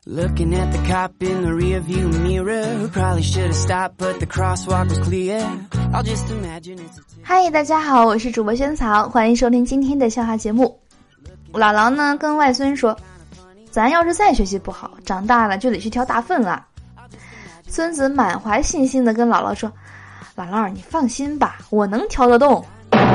Looking at the cop in the rearview mirror, probably should have stopped, but the crosswalk was clear. I'll just imagine it's. 嗨，大家好，我是主播萱草，欢迎收听今天的笑话节目。姥姥呢跟外孙说，咱要是再学习不好，长大了就得去挑大粪了。孙子满怀信心地跟姥姥说，姥姥你放心吧，我能挑得动。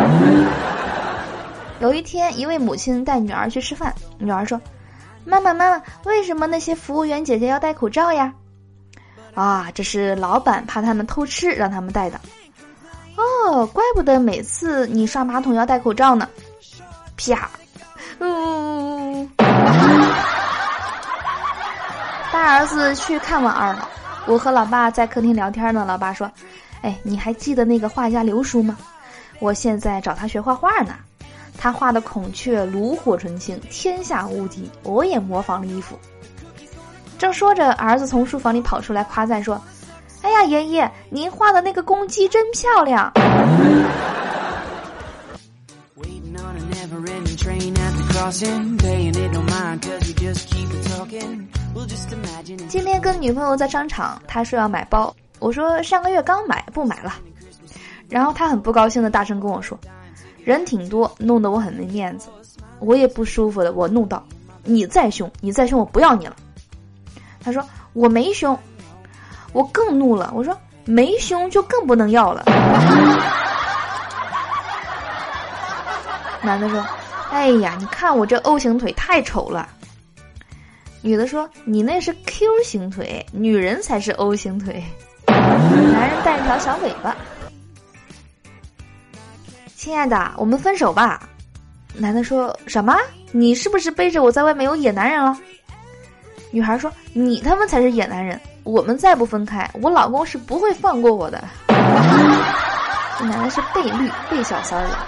有一天，一位母亲带女儿去吃饭，女儿说，妈妈，为什么那些服务员姐姐要戴口罩呀？啊，这是老板怕他们偷吃让他们戴的。哦，怪不得每次你刷马桶要戴口罩呢。啪，大儿子去看望二老，我和老爸在客厅聊天呢。老爸说，哎，你还记得那个画家刘叔吗？我现在找他学画画呢。他画的孔雀炉火纯青，天下无敌，我也模仿了一幅。正说着，儿子从书房里跑出来夸赞说，哎呀，爷爷，您画的那个公鸡真漂亮。今天跟女朋友在商场，他说要买包，我说上个月刚买，不买了。然后他很不高兴的大声跟我说，人挺多，弄得我很没面子。我也不舒服的，我怒道，你再凶我不要你了。他说我没凶。我更怒了，我说没凶就更不能要了。男的说，哎呀，你看我这 O 型腿太丑了。女的说，你那是 Q 型腿，女人才是 O 型腿。男人带一条小尾巴。亲爱的，我们分手吧。男的说，什么？你是不是背着我在外面有野男人了？女孩说，你他妈才是野男人，我们再不分开，我老公是不会放过我的。这男的是被绿被小三了。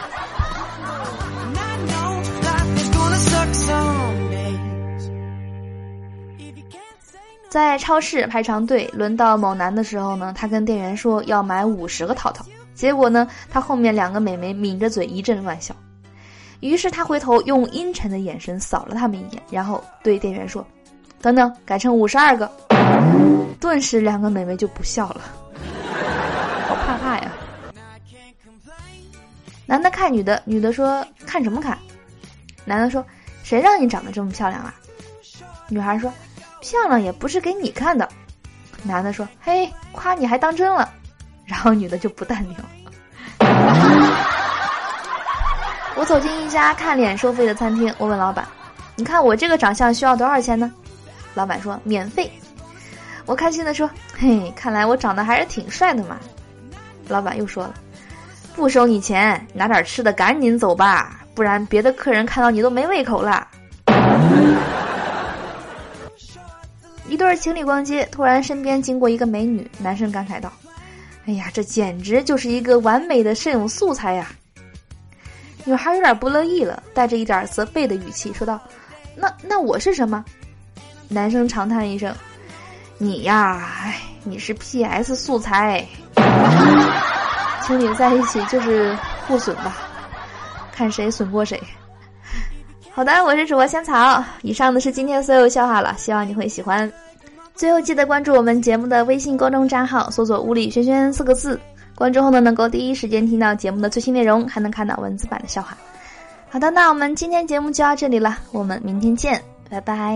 在超市排长队，轮到某男的时候呢，他跟店员说要买50个套套，结果呢，他后面2个美眉抿着嘴一阵乱笑。于是他回头用阴沉的眼神扫了他们一眼，然后对店员说，等等，改成52个。顿时2个美眉就不笑了，好怕呀。男的看女的，女的说，看什么看？男的说，谁让你长得这么漂亮啊？女孩说，漂亮也不是给你看的。男的说，嘿，夸你还当真了。然后女的就不淡定了。我走进一家看脸收费的餐厅，我问老板，你看我这个长相需要多少钱呢？老板说，免费。我开心地说，嘿，看来我长得还是挺帅的嘛。老板又说了，不收你钱，拿点吃的赶紧走吧，不然别的客人看到你都没胃口了。一对情侣逛街，突然身边经过一个美女，男生感慨道，哎呀，这简直就是一个完美的摄影素材呀。女孩有点不乐意了，带着一点责备的语气说道，那我是什么？男生长叹一声，你呀，你是 PS 素材。情侣在一起就是互损吧，看谁损过谁。好的，我是主播香草，以上的是今天所有笑话了，希望你会喜欢。最后记得关注我们节目的微信公众账号，搜索物理轩轩4个字，关注后呢，能够第一时间听到节目的最新内容，还能看到文字版的笑话。好的，那我们今天节目就到这里了，我们明天见，拜拜。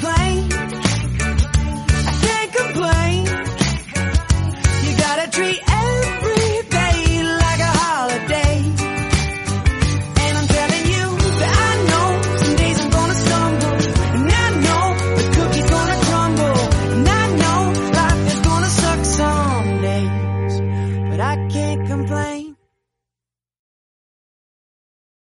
Treat